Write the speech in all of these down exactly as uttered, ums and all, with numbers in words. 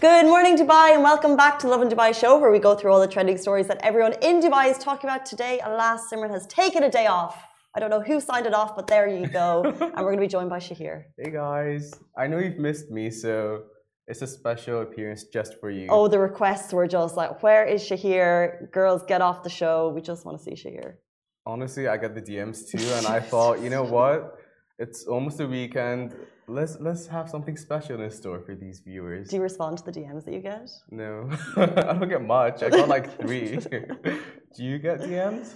Good morning, Dubai, and welcome back to Lovin Dubai show, where we go through all the trending stories that everyone in Dubai is talking about today. Alas, Simran has taken a day off. I don't know who signed it off, but there you go. And we're going to be joined by Shahir. Hey guys, I know you've missed me, so it's a special appearance just for you. Oh, the requests were just like, where is Shahir? Girls, get off the show. We just want to see Shahir. Honestly, I got the D Ms too, and I thought, you know what? It's almost a weekend. Let's let's have something special in store for these viewers. Do you respond to the D Ms that you get? No, I don't get much. I got like three. Do you get D Ms?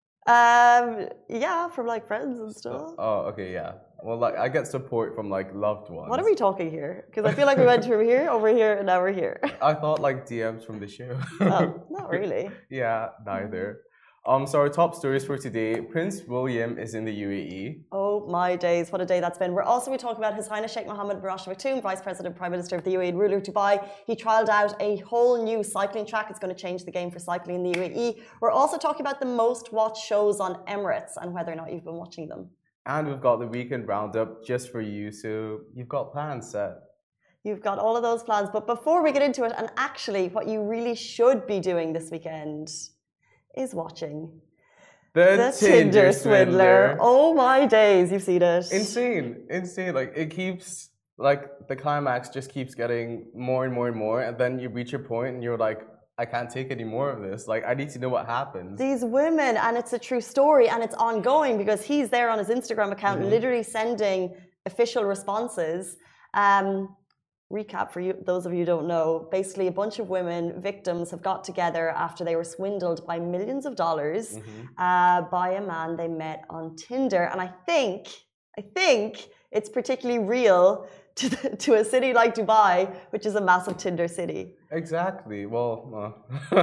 Um, yeah, from like friends and stuff. Oh, okay, yeah. Well, like I get support from like loved ones. What are we talking here? Because I feel like we went from here, over here, and now we're here. I thought like D Ms from the show. Oh, not really. Yeah, neither. Um, so our top stories for today: Prince William is in the U A E. Oh my days, what a day that's been. We're also we talk about His Highness Sheikh Mohammed bin Rashid Al Maktoum, Vice President, Prime Minister of the U A E and ruler of Dubai. He trialled out a whole new cycling track. It's going to change the game for cycling in the U A E. We're also talking about the most watched shows on Emirates and whether or not you've been watching them. And we've got the weekend roundup just for you, so you've got plans set. You've got all of those plans. But before we get into it, and actually what you really should be doing this weekend is watching The, The Tinder, Tinder Swindler. Swindler. Oh my days, you've seen it. Insane, insane. Like it keeps, like the climax just keeps getting more and more and more, and then you reach a point and you're like, I can't take any more of this. Like I need to know what happens. These women, and it's a true story, and it's ongoing because he's there on his Instagram account, Mhm. literally sending official responses. Um, recap for you, those of you who don't know. Basically, a bunch of women, victims, have got together after they were swindled by millions of dollars Mhm. uh, by a man they met on Tinder. And I think, I think it's particularly real to, the, to a city like Dubai, which is a massive Tinder city. Exactly. Well, uh,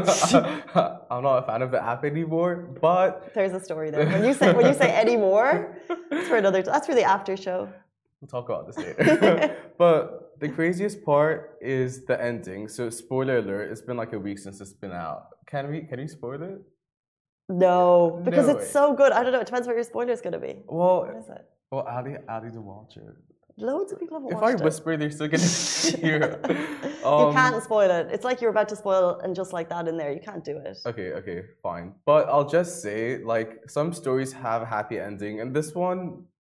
I'm not a fan of the app anymore, but There's a story there. When you say when you say any more, that's for another. That's for the after show. we'll talk about this later. But the craziest part is the ending. So spoiler alert, it's been like a week since it's been out. Can we can we spoil it? No, because No it's way. so good. I don't know. It depends what your spoiler is going to be. Well, What is it? well, Ali, Ali to watch it. Loads of people have If I watched it. whisper, they're still gonna hear. You Um, can't spoil it. It's like you're about to spoil and just like that in there. You can't do it. Okay, okay, fine. But I'll just say, like, some stories have a happy ending, and this one,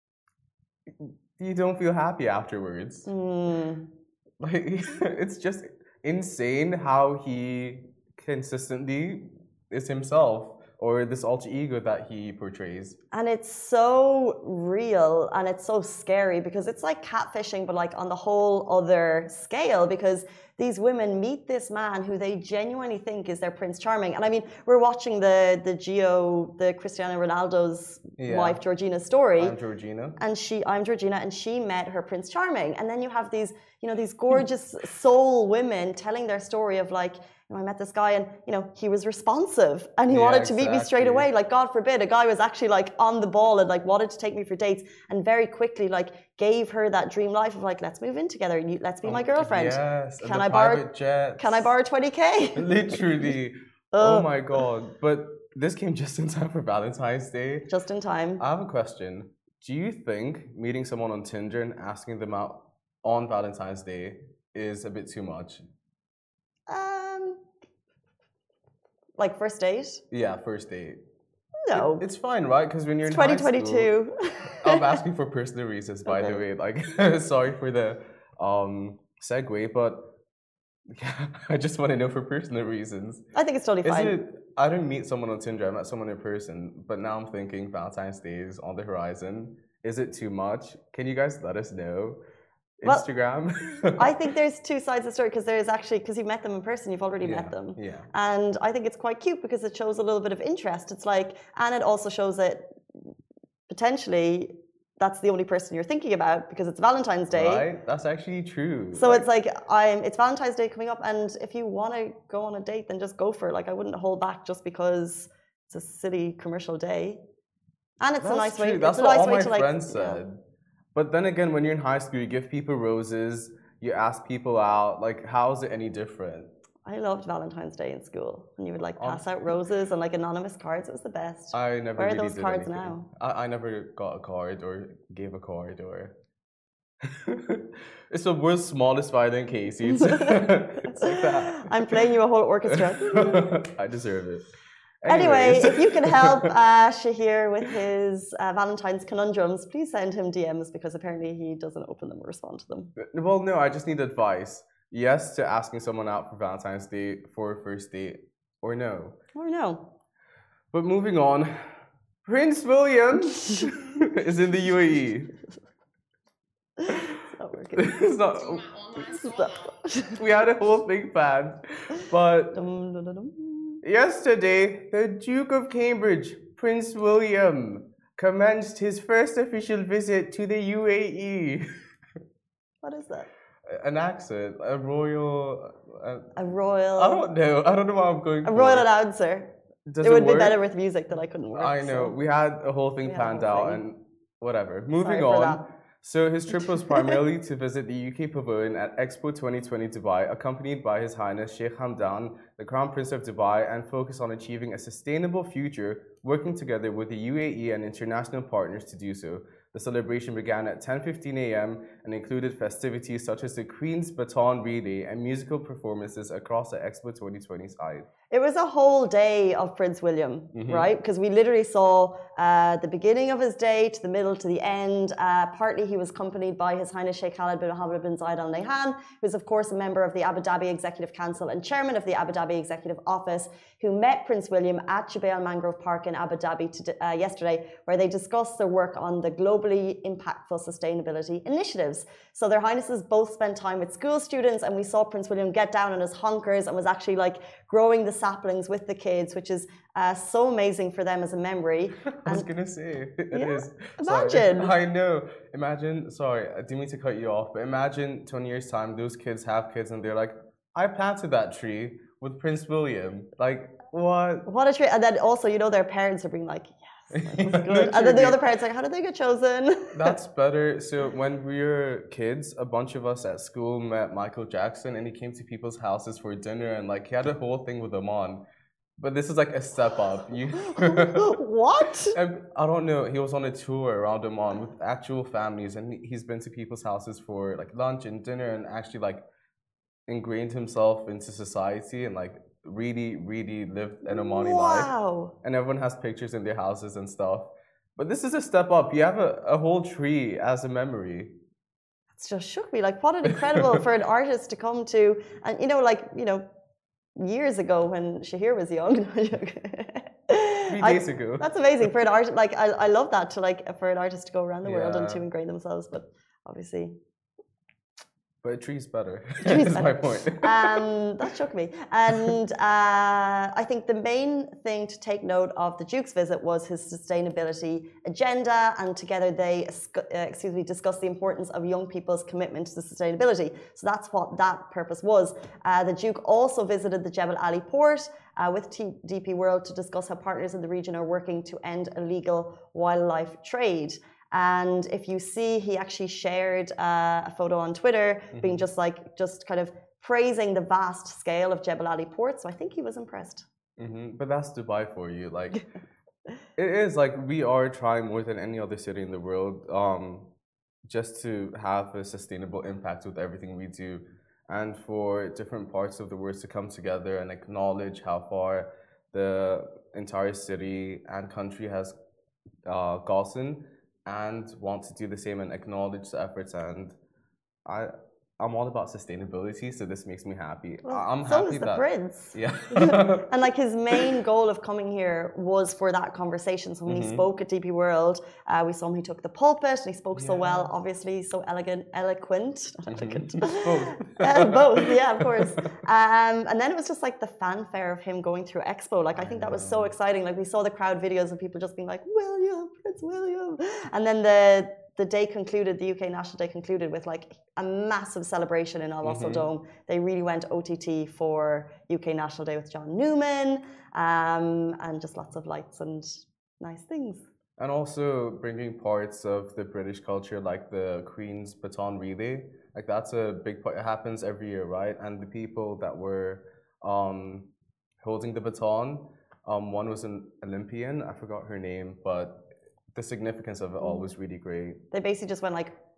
you don't feel happy afterwards. Hmm. Like, it's just insane how he consistently is himself, or this alter ego that he portrays. And it's so real and it's so scary because it's like catfishing, but like on the whole other scale, because these women meet this man who they genuinely think is their Prince Charming. And I mean, we're watching the the Gio, the Cristiano Ronaldo's Yeah. wife, Georgina's story. I'm Georgina. And she, I'm Georgina, and she met her Prince Charming. And then you have these, you know, these gorgeous soul women telling their story of like, you know, I met this guy and, you know, he was responsive and he Yeah, wanted to meet me straight exactly. away. Like, God forbid, a guy was actually like on the ball and like wanted to take me for dates and very quickly like gave her that dream life of like, let's move in together and you, let's be my girlfriend. Yes. and Can the I borrow- private jets. Can I borrow twenty K? Literally. Oh. Oh my god. But this came just in time for Valentine's Day. Just in time. I have a question. Do you think meeting someone on Tinder and asking them out on Valentine's Day is a bit too much? Um, like first date? Yeah, first date. No. It- it's fine, right? Because when you're It's in high twenty twenty-two. school, I'm asking for personal reasons, by the Okay. way. Like, sorry for the um segue, but yeah, I just want to know for personal reasons. I think it's totally Is fine. it? I didn't meet someone on Tinder. I met someone in person, but now I'm thinking Valentine's Day is on the horizon. Is it too much? Can you guys let us know? Well, Instagram. I think there's two sides of the story because there's actually, because you've met them in person, you've already yeah, met them. Yeah. And I think it's quite cute because it shows a little bit of interest. It's like, and it also shows that potentially that's the only person you're thinking about because it's Valentine's Day. Right. That's actually true. So it's like I'm. It's Valentine's Day coming up, and if you want to go on a date, then just go for it. Like I wouldn't hold back just because it's a silly commercial day, and it's That's a nice true. way. That's it's a what nice all way my to like. friends Yeah. said. But then again, when you're in high school, you give people roses, you ask people out. Like, how is it any different? I loved Valentine's Day in school, and you would like Oh. pass out roses and like anonymous cards. It was the best. I never Where are really those did cards anything. now? I, I never got a card or gave a card or. It's the world's smallest violin, Casey. It's, it's like that. I'm playing you a whole orchestra. I deserve it. Anyway, Anyways. if you can help uh, Shahir with his uh, Valentine's conundrums, please send him D Ms because apparently he doesn't open them or respond to them. Well, no, I just need advice. Yes to asking someone out for Valentine's Day for a first date, or no. Or no. But moving on, Prince William is in the U A E. It's not working. It's not. It's not. We had a whole thing planned, but Dum, dum, dum, dum. yesterday, the Duke of Cambridge, Prince William, commenced his first official visit to the U A E. What is that? An accent, a royal. Uh, A royal. I don't know. I don't know what I'm going A for. royal announcer. Does it would work? be better with music that I couldn't work. I know. So. We had a whole thing We had a planned whole out thing. and whatever. Moving Sorry for on. that. So his trip was primarily to visit the U K pavilion at Expo twenty twenty Dubai, accompanied by His Highness Sheikh Hamdan, the Crown Prince of Dubai, and focus on achieving a sustainable future, working together with the U A E and international partners to do so. The celebration began at ten fifteen a m and included festivities such as the Queen's Baton Relay and musical performances across the Expo twenty twenty side. It was a whole day of Prince William, Mhm. right? Because we literally saw uh, the beginning of his day to the middle to the end. Uh, partly he was accompanied by His Highness Sheikh Khaled bin Mohammed bin Zayed Al Nahyan, who is of course a member of the Abu Dhabi Executive Council and chairman of the Abu Dhabi Executive Office, who met Prince William at Jubail Mangrove Park in Abu Dhabi to, uh, yesterday, where they discussed their work on the globally impactful sustainability initiatives. So their highnesses both spent time with school students, and we saw Prince William get down on his honkers and was actually like growing the saplings with the kids, which is uh, so amazing for them as a memory. I was gonna say it Yeah, is. imagine. Sorry. I know. Imagine. Sorry, I didn't mean to cut you off, but imagine twenty years time, those kids have kids, and they're like, "I planted that tree with Prince William." Like what? What a treat. And then also, you know, their parents are being like, yes, that was good. And then the other parents are like, how did they get chosen? That's better. So when we were kids, a bunch of us at school met Michael Jackson, and he came to people's houses for dinner, and like he had a whole thing with them on. But this is like a step up. You What? And I don't know. He was on a tour around Oman with actual families, and he's been to people's houses for like lunch and dinner, and actually like ingrained himself into society and like really, really lived an Omani life. Wow. And everyone has pictures in their houses and stuff. But this is a step up. You have a, a whole tree as a memory. It's just shook me. Like, what an incredible for an artist to come to. And, you know, like, you know, years ago when Shahir was young. Three I, days ago. That's amazing for an artist. Like, I, I love that to like for an artist to go around the world and Yeah. to ingrain themselves. But obviously, But a tree's better. tree's That's my better. point. um, that shook me. And uh, I think the main thing to take note of the Duke's visit was his sustainability agenda, and together they, uh, excuse me, discussed the importance of young people's commitment to sustainability. So that's what that purpose was. Uh, the Duke also visited the Jebel Ali port uh, with T- D P World to discuss how partners in the region are working to end illegal wildlife trade. And if you see, he actually shared uh, a photo on Twitter, mm-hmm. being just like, just kind of praising the vast scale of Jebel Ali port. So I think he was impressed. Mm-hmm. But that's Dubai for you. Like, it is like we are trying more than any other city in the world, um, just to have a sustainable impact with everything we do, and for different parts of the world to come together and acknowledge how far the entire city and country has uh, gotten, and want to do the same and acknowledge the efforts. And I, I'm all about sustainability, so this makes me happy. Well, I'm so happy is the that prince. Yeah. And like his main goal of coming here was for that conversation. So when Mhm. he spoke at D P World, uh, we saw him. He took the pulpit and he spoke so Yeah. well. Obviously, so elegant, eloquent, not elegant. Both. uh, both, yeah, of course. Um, and then it was just like the fanfare of him going through Expo. Like I think that was so exciting. Like we saw the crowd videos of people just being like, William, Prince William, and then the. The day concluded, the U K National Day concluded with like a massive celebration in Al Wasl Mhm. Dome. They really went O T T for U K National Day with John Newman, um, and just lots of lights and nice things. And also bringing parts of the British culture, like the Queen's Baton Relay, like that's a big part. It happens every year, right? And the people that were um, holding the baton, um, one was an Olympian. I forgot her name, but the significance of it all was really great. They basically just went like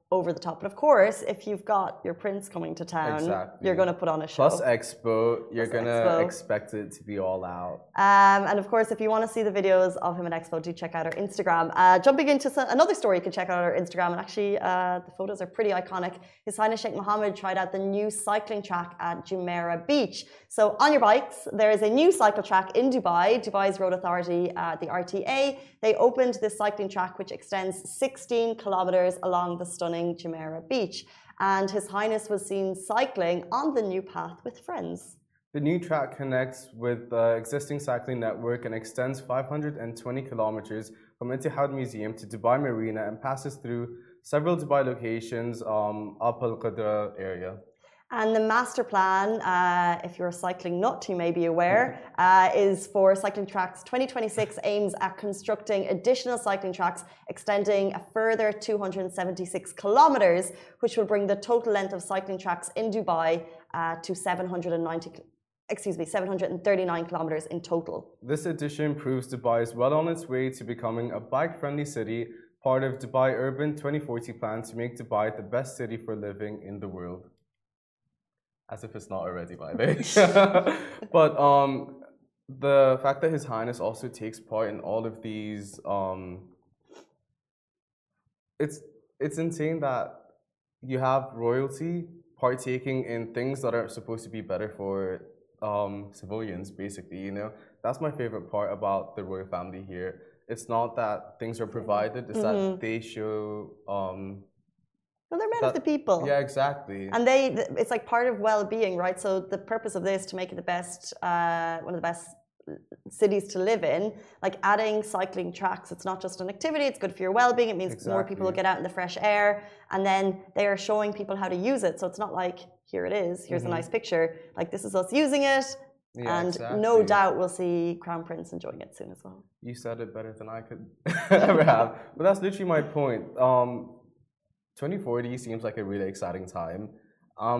over the top. But of course, if you've got your prince coming to town, Exactly. you're going to put on a show. Plus Expo, you're going to expect it to be all out. Um, and of course, if you want to see the videos of him at Expo, do check out our Instagram. Uh, jumping into some, another story, you can check out our Instagram. And actually, uh, the photos are pretty iconic. His Highness Sheikh Mohammed tried out the new cycling track at Jumeirah Beach. So on your bikes, there is a new cycle track in Dubai. Dubai's Road Authority, uh, the R T A, they opened this cycling track which extends sixteen kilometers along the stunning Jumeirah Beach. And His Highness was seen cycling on the new path with friends. The new track connects with the existing cycling network and extends five hundred twenty kilometers from Etihad Museum to Dubai Marina and passes through several Dubai locations, um, up Al Qadra area. And the master plan, uh, if you're a cycling nut, you may be aware, uh, is for cycling tracks. twenty twenty-six aims at constructing additional cycling tracks, extending a further two hundred seventy-six kilometers, which will bring the total length of cycling tracks in Dubai uh, to seven hundred ninety, excuse me, seven hundred thirty-nine kilometers in total. This addition proves Dubai is well on its way to becoming a bike-friendly city, part of Dubai Urban twenty forty plan to make Dubai the best city for living in the world. As if it's not already, by the way. But um, the fact that His Highness also takes part in all of these, um, it's it's insane that you have royalty partaking in things that are supposed to be better for um, civilians, basically. You know, that's my favorite part about the royal family here. It's not that things are provided; it's mm-hmm. that they show. Um, Well, they're men that, of the people. Yeah, exactly. And they, it's like part of well-being, right? So the purpose of this to make it the best, uh, one of the best cities to live in, like adding cycling tracks. It's not just an activity; it's good for your well-being. It means exactly. more people will get out in the fresh air, and then they are showing people how to use it. So it's not like here it is, here's mm-hmm. a nice picture. Like this is us using it. Yeah, and exactly. no doubt we'll see Crown Prince enjoying it soon as well. You said it better than I could ever have. But that's literally my point. Um, twenty forty seems like a really exciting time. Um,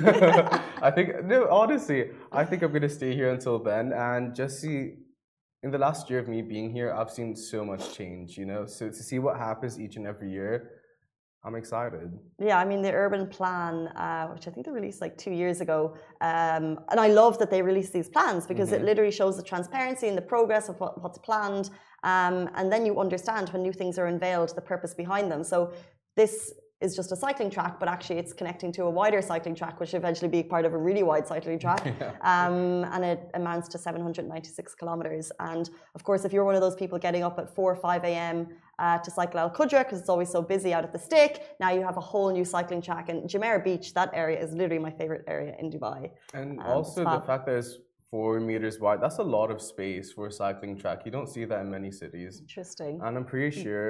I think, no, honestly, I think I'm going to stay here until then and just see, in the last year of me being here, I've seen so much change, you know? So to see what happens each and every year, I'm excited. Yeah, I mean, the urban plan, uh, which I think they released like two years ago, um, and I love that they released these plans because mm-hmm. it literally shows the transparency and the progress of what, what's planned, um, and then you understand when new things are unveiled, the purpose behind them. So this is just a cycling track, but actually it's connecting to a wider cycling track, which will eventually be part of a really wide cycling track. Yeah. Um, and it amounts to seven hundred ninety-six kilometers. And of course, if you're one of those people getting up at four or five a m uh, to cycle Al Qudra, because it's always so busy out at the stick, now you have a whole new cycling track. And Jumeirah Beach, that area is literally my favorite area in Dubai. And um, also the fact that it's four meters wide, that's a lot of space for a cycling track. You don't see that in many cities. Interesting. And I'm pretty sure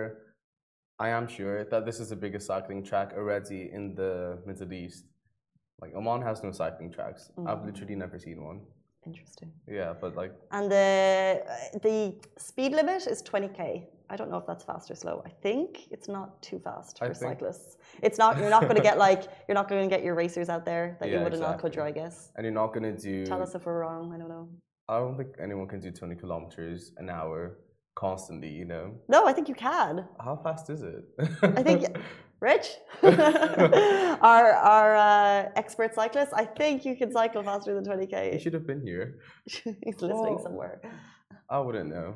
I am sure that this is the biggest cycling track already in the Middle East. Like Oman has no cycling tracks. Mm. I've literally never seen one. Interesting. Yeah, but like. And the the speed limit is twenty k. I don't know if that's fast or slow. I think it's not too fast for I cyclists. Think... It's not. You're not going to get like you're not going to get your racers out there that yeah, you would exactly. in Al Qudra, I guess. And you're not going to do. Tell us if we're wrong. I don't know. I don't think anyone can do twenty kilometers an hour. Constantly, you know. No, I think you can. How fast is it? I think, Rich, our our uh, expert cyclist. I think you can cycle faster than twenty k. He should have been here. He's listening oh, somewhere. I wouldn't know.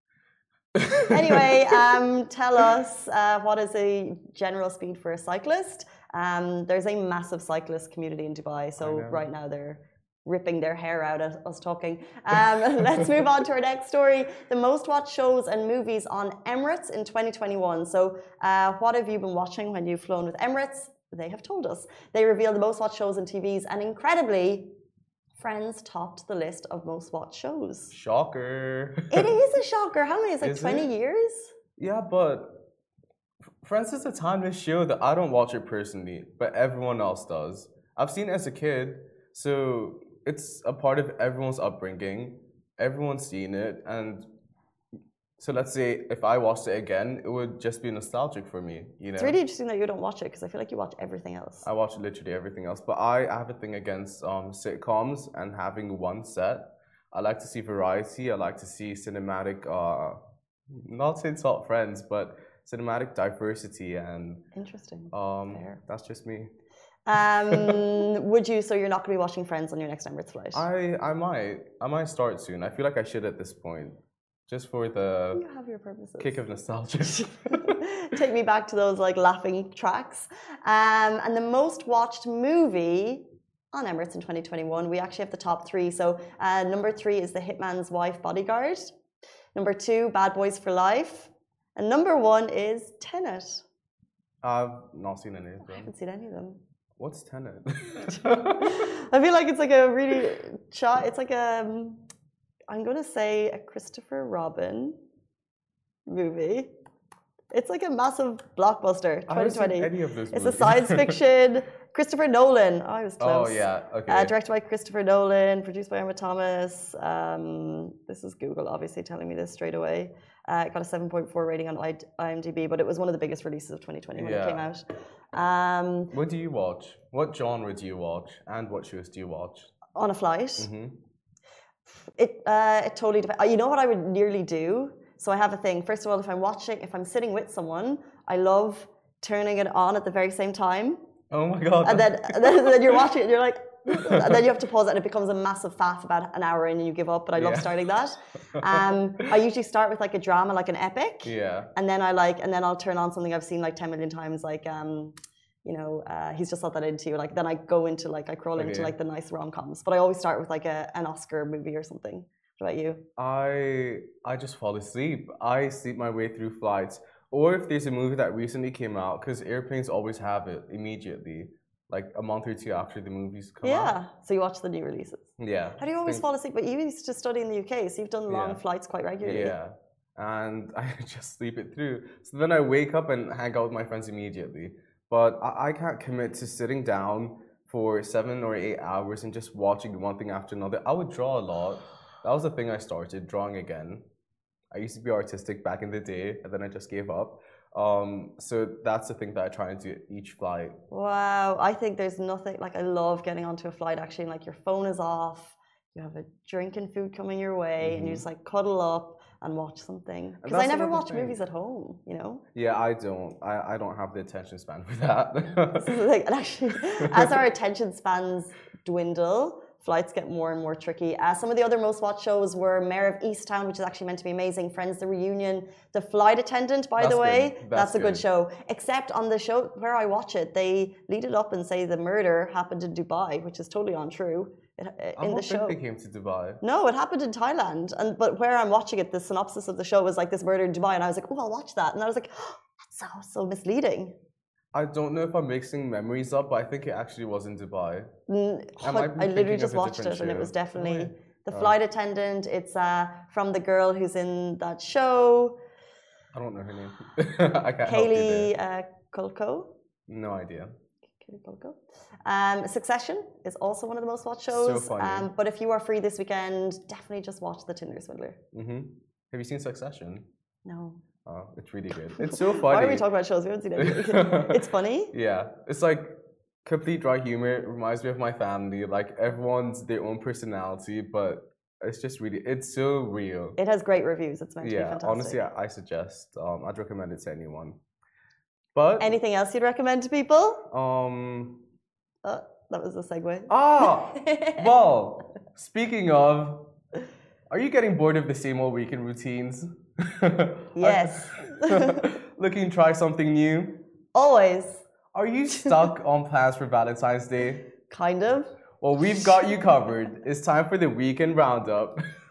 Anyway, um, tell us uh, what is a general speed for a cyclist? Um, there's a massive cyclist community in Dubai, so right now they're ripping their hair out at us talking. Um, let's move on to our next story. The most watched shows and movies on Emirates in twenty twenty-one. So uh, what have you been watching when you've flown with Emirates? They have told us. They revealed the most watched shows and T Vs, and incredibly, Friends topped the list of most watched shows. Shocker. It is a shocker. How many? It's like is twenty it? Years? Yeah, but Friends is a timeless show that I don't watch it personally, but everyone else does. I've seen it as a kid, so it's a part of everyone's upbringing. Everyone's seen it, and so let's say if I watched it again, it would just be nostalgic for me. You know, it's really interesting that you don't watch it because I feel like you watch everything else. I watch literally everything else, but I have a thing against um, sitcoms and having one set. I like to see variety. I like to see cinematic. Uh, not say top Friends, but cinematic diversity, and Interesting. um, Fair. that's just me. Um, would you? So you're not going to be watching Friends on your next Emirates flight? I I might I might start soon. I feel like I should at this point, just for the You have your purposes. kick of nostalgia. Take me back to those like laughing tracks. Um, and the most watched movie on Emirates in twenty twenty-one, we actually have the top three. So uh, number three is The Hitman's Wife Bodyguard. Number two, Bad Boys for Life. And number one is Tenet. I've not seen any of I them. haven't seen any of them. What's Tenet? I feel like it's like a really shy, it's like a, I'm going to say a Christopher Robin movie. It's like a massive blockbuster, twenty twenty. I haven't seen any of those It's movies. a science fiction. Christopher Nolan. Oh, I was close. Oh yeah, okay. Uh, directed by Christopher Nolan, produced by Emma Thomas. Um, this is Google obviously telling me this straight away. Uh, it got a seven point four rating on IMDb, but it was one of the biggest releases of twenty twenty when Yeah. it came out. Um, What do you watch? What genre do you watch? And what shows do you watch? on a flight. Hmm. It uh, it totally depends. You know what I would nearly do? So I have a thing. First of all, if I'm watching, if I'm sitting with someone, I love turning it on at the very same time. Oh my god. And then, and then, then you're watching it and you're like, and then you have to pause it and it becomes a massive faff about an hour in and you give up. But I love Yeah. starting that. Um, I usually start with like a drama, like an epic. Yeah. And then I like, and then I'll turn on something I've seen like ten million times, like, um, you know, uh, he's just not that into you. Like, then I go into like, I crawl into Okay. like the nice rom coms. But I always start with like a, an Oscar movie or something. What about you? I I just fall asleep. I sleep my way through flights. Or if there's a movie that recently came out, because airplanes always have it immediately, like a month or two after the movies come Yeah. out. So you watch the new releases. Yeah. How do you always Think- fall asleep? But you used to study in the U K, so you've done long Yeah. flights quite regularly. Yeah. And I just sleep it through. So then I wake up and hang out with my friends immediately. But I, I can't commit to sitting down for seven or eight hours and just watching one thing after another. I would draw a lot. That was the thing I started, drawing again. I used to be artistic back in the day, and then I just gave up. Um, so that's the thing that I try and do each flight. Wow, I think there's nothing like I love getting onto a flight actually, and like your phone is off, you have a drink and food coming your way, and you just like cuddle up and watch something. Because I that's never another watch thing. movies at home, you know. Yeah, I don't. I, I don't have the attention span for that. This is like, and actually, as our attention spans dwindle, flights get more and more tricky. Uh, some of the other most watched shows were Mayor of Easttown, which is actually meant to be amazing. Friends, The Reunion, The Flight Attendant, by That's the way. good. That's, That's a good good. show. Except on the show where I watch it, they lead it up and say the murder happened in Dubai, which is totally untrue. It, I in don't the show. think they came to Dubai. No, it happened in Thailand. And but where I'm watching it, the synopsis of the show was like this murder in Dubai, and I was like, oh, I'll watch that. And I was like, oh, that's so so misleading. I don't know if I'm mixing memories up, but I think it actually was in Dubai. Mm, I might be I literally thinking just of a watched it, different and it show. was definitely Oh, the Oh. flight attendant. It's uh, from the girl who's in that show, I don't know her name. I can't help you Kaylee there. uh, Culco. No idea. Kaylee Culco. Um, Succession is also one of the most watched shows. funny. Um, but if you are free this weekend, definitely just watch The Tinder Swindler. Hmm. Have you seen Succession? No. Oh, it's really good. It's so funny. Why are we talking about shows? We haven't seen anything. It's funny. Yeah, it's like complete dry humor. It reminds me of my family. Like everyone's their own personality, but it's just really, it's so real. It has great reviews. It's meant to be Yeah, fantastic. honestly, I, I suggest. Um, I'd recommend it to anyone. But Anything else you'd recommend to people? um, Oh, that was a segue. ah, well, speaking of, are you getting bored of the same old weekend routines? Yes. Looking to try something new? Always. Are you stuck on plans for Valentine's Day? Kind of. Well, we've got you covered. It's time for the weekend roundup.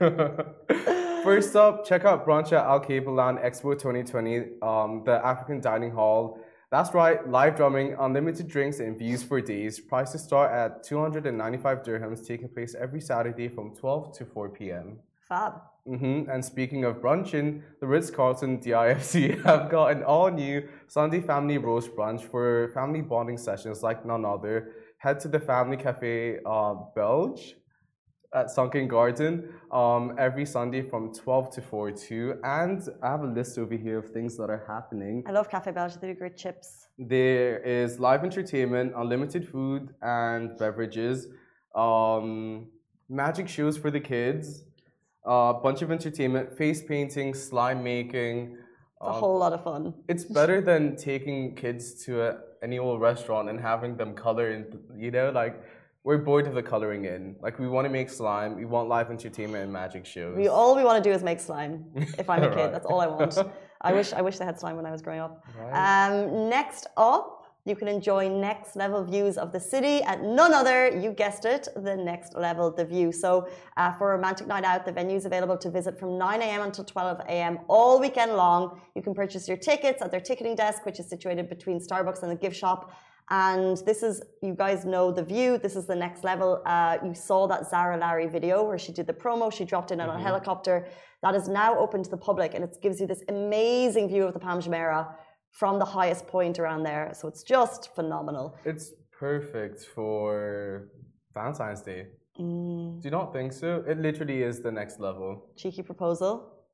First up, check out brunch at Al Capellan Expo twenty twenty, um, the African Dining Hall. That's right, live drumming, unlimited drinks, and views for days. Prices start at two hundred ninety-five dirhams, taking place every Saturday from twelve to four p m Fab. Mm-hmm. And speaking of brunching, the Ritz-Carlton D I F C have got an all-new Sunday family roast brunch for family bonding sessions like none other. Head to the Family Cafe uh, Belge at Sunken Garden um, every Sunday from twelve to four too. And I have a list over here of things that are happening. I love Cafe Belge. They do great chips. There is live entertainment, unlimited food and beverages, um, magic shows for the kids, a bunch of entertainment, face painting, slime making, It's a whole lot of fun. It's better than taking kids to a, any old restaurant and having them color in, you know, like we're bored of the coloring in. Like we want to make slime, we want live entertainment and magic shows. We all we want to do is make slime. If I'm a kid, Right. that's all I want. I wish I wish they had slime when I was growing up. Right. Um, next up, you can enjoy next level views of the city at none other, you guessed it, the Next Level The View. So uh, for a romantic night out, the venue is available to visit from nine a m until twelve a m all weekend long. You can purchase your tickets at their ticketing desk, which is situated between Starbucks and the gift shop. And this is, you guys know The View, this is the next level. Uh, you saw that Zara Larry video where she did the promo, she dropped in on Mm-hmm. a helicopter. That is now open to the public, and it gives you this amazing view of the Palm Jumeirah from the highest point around there. So it's just phenomenal. It's perfect for Valentine's Day. Mm, Do you not think so? It literally is the next level. cheeky proposal.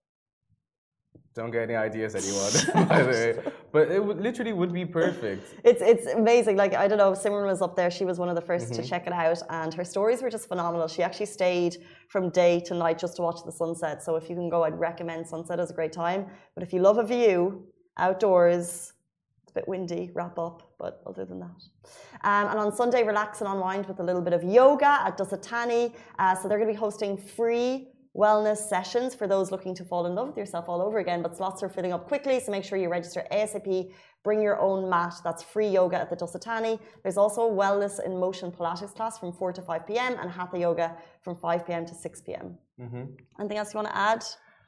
Don't get any ideas, anyone, by the way. But it would, literally would be perfect. It's it's amazing. Like, I don't know, Simran was up there. She was one of the 1st Mm-hmm. to check it out, and her stories were just phenomenal. She actually stayed from day to night just to watch the sunset. So if you can go, I'd recommend sunset as a great time. But if you love a view outdoors, it's a bit windy, wrap up. But other than that, um, and on Sunday, relax and unwind with a little bit of yoga at Dusatani. Uh, so they're going to be hosting free wellness sessions for those looking to fall in love with yourself all over again, but slots are filling up quickly, so make sure you register ASAP. Bring your own mat. That's free yoga at the Dusatani. There's also a wellness in motion Pilates class from four to five p m and Hatha yoga from five p m to six p m Mm-hmm. Anything else you want to add?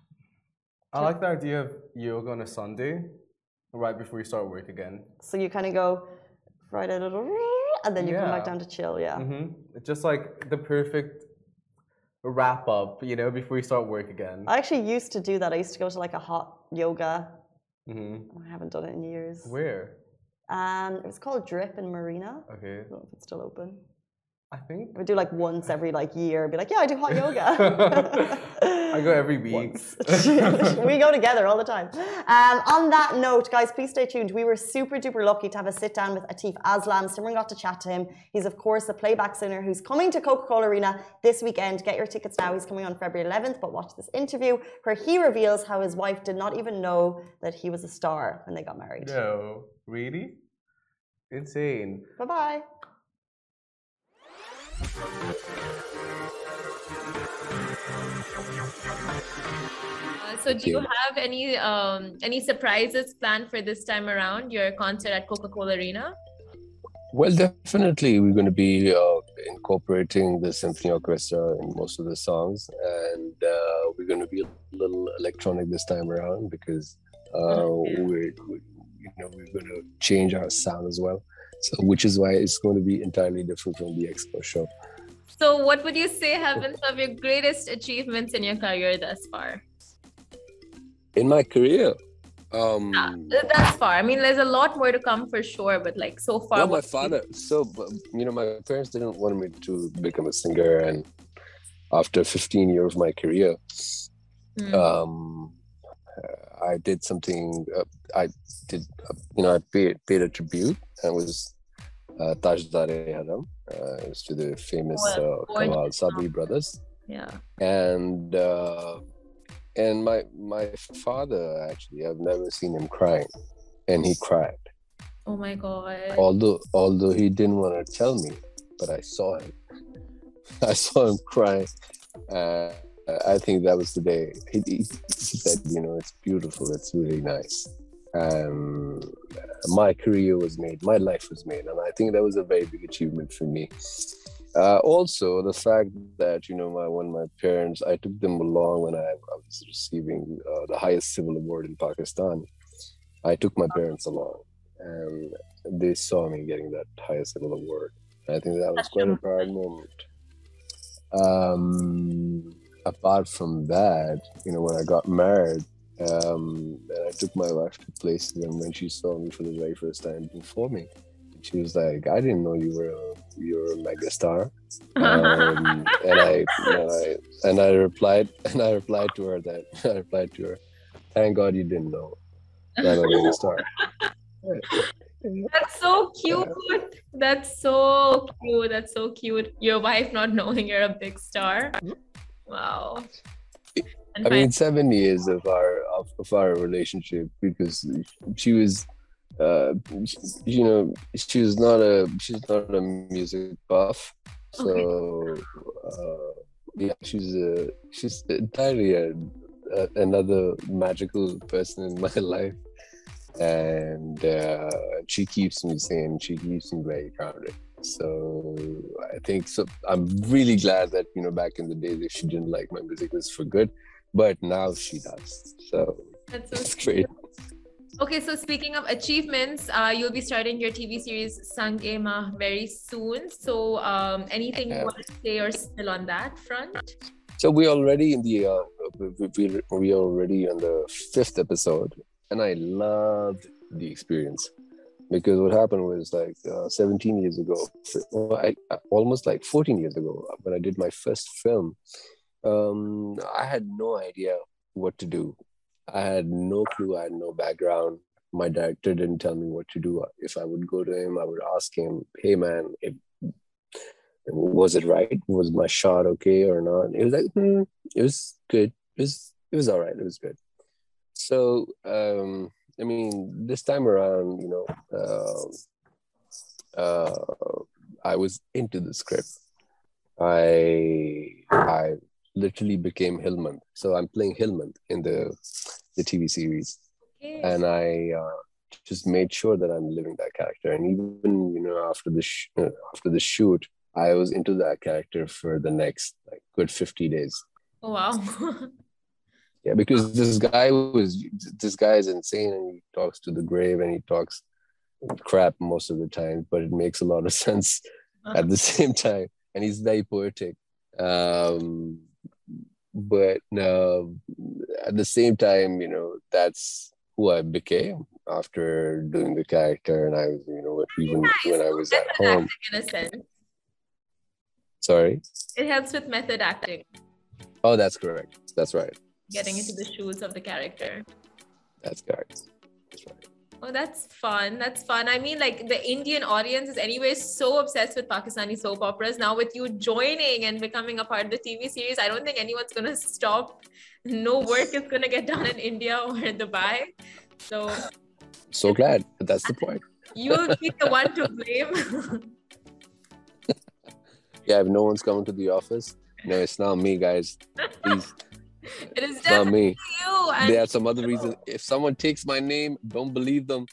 I like the idea of yoga on a Sunday, right before you start work again. So you kind of go Friday, and then you come back Yeah. down to chill, yeah. Mm-hmm. It's just like the perfect wrap up, you know, before you start work again. I actually used to do that. I used to go to like a hot yoga. Mm-hmm. I haven't done it in years. Where? Um, it was called Drip in Marina. Okay. I don't know if it's still open. I think. I would do like once every like year. Be like, yeah, I do hot yoga. I go every week. We go together all the time. Um, on that note, guys, please stay tuned. We were super duper lucky to have a sit down with Atif Aslam. Simran got to chat to him. He's of course a playback singer who's coming to Coca-Cola Arena this weekend. Get your tickets now. He's coming on February eleventh. But watch this interview where he reveals how his wife did not even know that he was a star when they got married. No, really? Insane. Bye bye. Uh, so do you have any um, any surprises planned for this time around, your concert at Coca-Cola Arena? Well, definitely we're going to be uh, incorporating the symphony orchestra in most of the songs, and uh, we're going to be a little electronic this time around because uh, we're, we, you know, we're going to change our sound as well. So, which is why it's going to be entirely different from the Expo show. So what would you say have been some of your greatest achievements in your career thus far? In my career, um, Uh, thus far. I mean, there's a lot more to come for sure, but like so far. well, my what- father. So, you know, my parents didn't want me to become a singer, and after fifteen years of my career, Hmm. um, I did something. Uh, I did, uh, you know, I paid paid a tribute, and it was uh, Tajdar-e-Haram. Uh, it was to the famous Well, uh, gorgeous Kamal Sabri song. brothers, Yeah. and uh, and my my father actually, I've never seen him crying, and he cried. Oh my God. Although although he didn't want to tell me, but I saw him. I saw him crying. Uh, I think that was the day. He, he, he said, you know, it's beautiful. It's really nice. Um, my career was made. My life was made. And I think that was a very big achievement for me. Uh, also, the fact that, you know, my, when my parents, I took them along when I, I was receiving uh, the highest civil award in Pakistan. I took my parents along, and they saw me getting that highest civil award. I think that was quite a proud moment. Um, apart from that, you know, when I got married, um, and I took my wife to places, and when she saw me for the very first time before me, she was like, "I didn't know you were a, you were a mega star." Um, and I, and I and I replied, and I replied to her that I replied to her, "Thank God you didn't know that I'm a mega star." That's so cute. That's so cute. That's so cute. Your wife not knowing you're a big star. Wow. And I find mean, seven years of our of, of our relationship, because she was, uh, she, you know, she was not a she's not a music buff, okay. so uh, yeah, she's a she's entirely a, a, another magical person in my life, and uh, she keeps me sane. She keeps me very grounded. So I think so. I'm really glad that, you know, back in the days, if she didn't like my music, it was for good. But now she does. So That's so it's sweet. great. Okay, so speaking of achievements, uh, you'll be starting your T V series Sangema very soon. So um, anything you Yeah. want to say or still on that front? So we're already in the uh, we we we already on the fifth episode, and I loved the experience, because what happened was, like, uh, seventeen years ago, well, I, almost like fourteen years ago, when I did my first film, um, I had no idea what to do. I had no clue. I had no background. My director didn't tell me what to do. If I would go to him, I would ask him, "Hey, man, if, was it right? Was my shot okay or not?" It was like, hmm, it was good. It was it was all right. It was good. So, um, I mean, this time around, you know, uh, uh, I was into the script. I I literally became Hilmand. So I'm playing Hilmand in the the T V series, Okay. and I uh, just made sure that I'm living that character. And even, you know, after the sh- uh, after the shoot, I was into that character for the next, like, good fifty days. Oh, wow. Yeah, because this guy was this guy is insane, and he talks to the grave, and he talks crap most of the time, but it makes a lot of sense at the same time, and he's very poetic. Um, but uh, at the same time, you know, that's who I became after doing the character, and I was, you know, even Nice. when I was at Method home. acting, in a sense. Sorry. It helps with method acting, Oh, that's correct. That's right. getting into the shoes of the character. That's correct. That's right. Oh, that's fun. That's fun. I mean, like, the Indian audience is anyway so obsessed with Pakistani soap operas. Now with you joining and becoming a part of the T V series, I don't think anyone's going to stop. No work is going to get done in India or Dubai. So So glad. But that's the point. you'll be the one to blame. Yeah, if no one's coming to the office, no, it's not me, guys. Please, It is it's not definitely me. you. And There are some other reasons. If someone takes my name, don't believe them.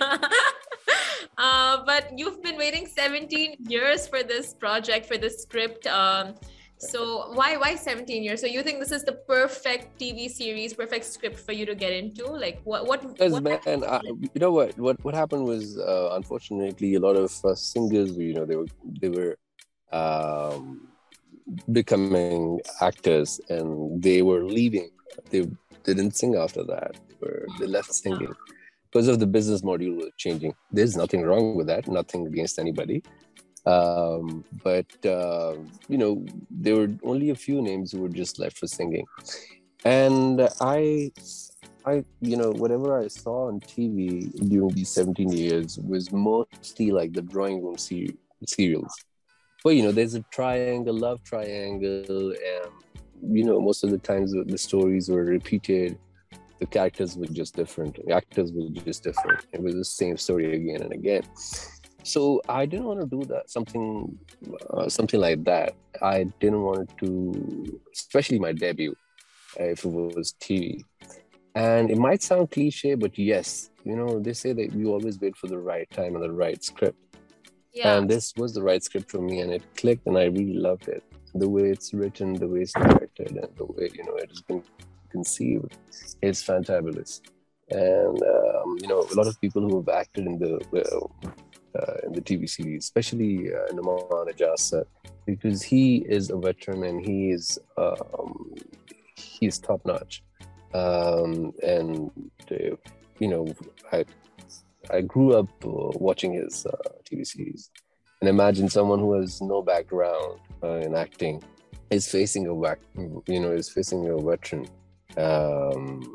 uh, but you've been waiting seventeen years for this project, for this script. Um, so why why seventeen years? So you think this is the perfect T V series, perfect script for you to get into? Like what what? Because, what man, I, you know what? What what happened was, uh, unfortunately, a lot of uh, singers, you know, they were they were um, becoming actors, and they were leaving. They they didn't sing after that. They, were, they left singing because of the business model was changing. There's nothing wrong with that. Nothing against anybody. Um, but uh, you know, there were only a few names who were just left for singing, and I, I, you know, whatever I saw on T V during these seventeen years was mostly like the drawing room ser- serials. But, you know, there's a triangle, love triangle, and, you know, most of the times the stories were repeated. The characters were just different. The actors were just different. It was the same story again and again. So I didn't want to do that, something, uh, something like that. I didn't want to, especially my debut, uh, if it was T V. And it might sound cliche, but yes, you know, they say that you always wait for the right time and the right script. Yeah. And this was the right script for me, and it clicked, and I really loved it. The way it's written, the way it's directed, and the way, you know, it has been conceived is fantabulous. And um, you know, a lot of people who have acted in the uh, uh, in the T V series, especially uh, Nauman Ijazat, because he is a veteran and he is um, he's top notch. Um, and uh, you know, I. I grew up uh, watching his uh, T V series, and imagine someone who has no background uh, in acting is facing a, you know, is facing a veteran. Um,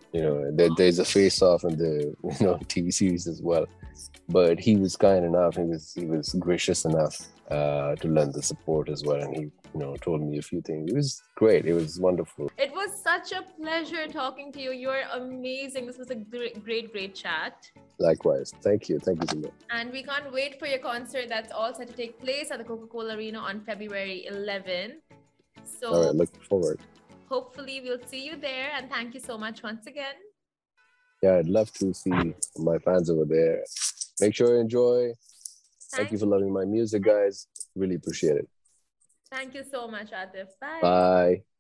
You know, there, there's a face-off in the you know T V series as well. But he was kind enough. He was he was gracious enough uh, to lend the support as well, and he you know told me a few things. It was great. It was wonderful. It was such a pleasure talking to you. You're amazing. This was a great, great, great chat. Likewise. Thank you. Thank you so much. And we can't wait for your concert. That's all set to take place at the Coca-Cola Arena on February eleventh. So All right. Looking forward. hopefully we'll see you there. And thank you so much once again. Yeah, I'd love to see my fans over there. Make sure you enjoy. Thank you for loving my music, guys. Really appreciate it. Thank you so much, Atif. Bye. Bye.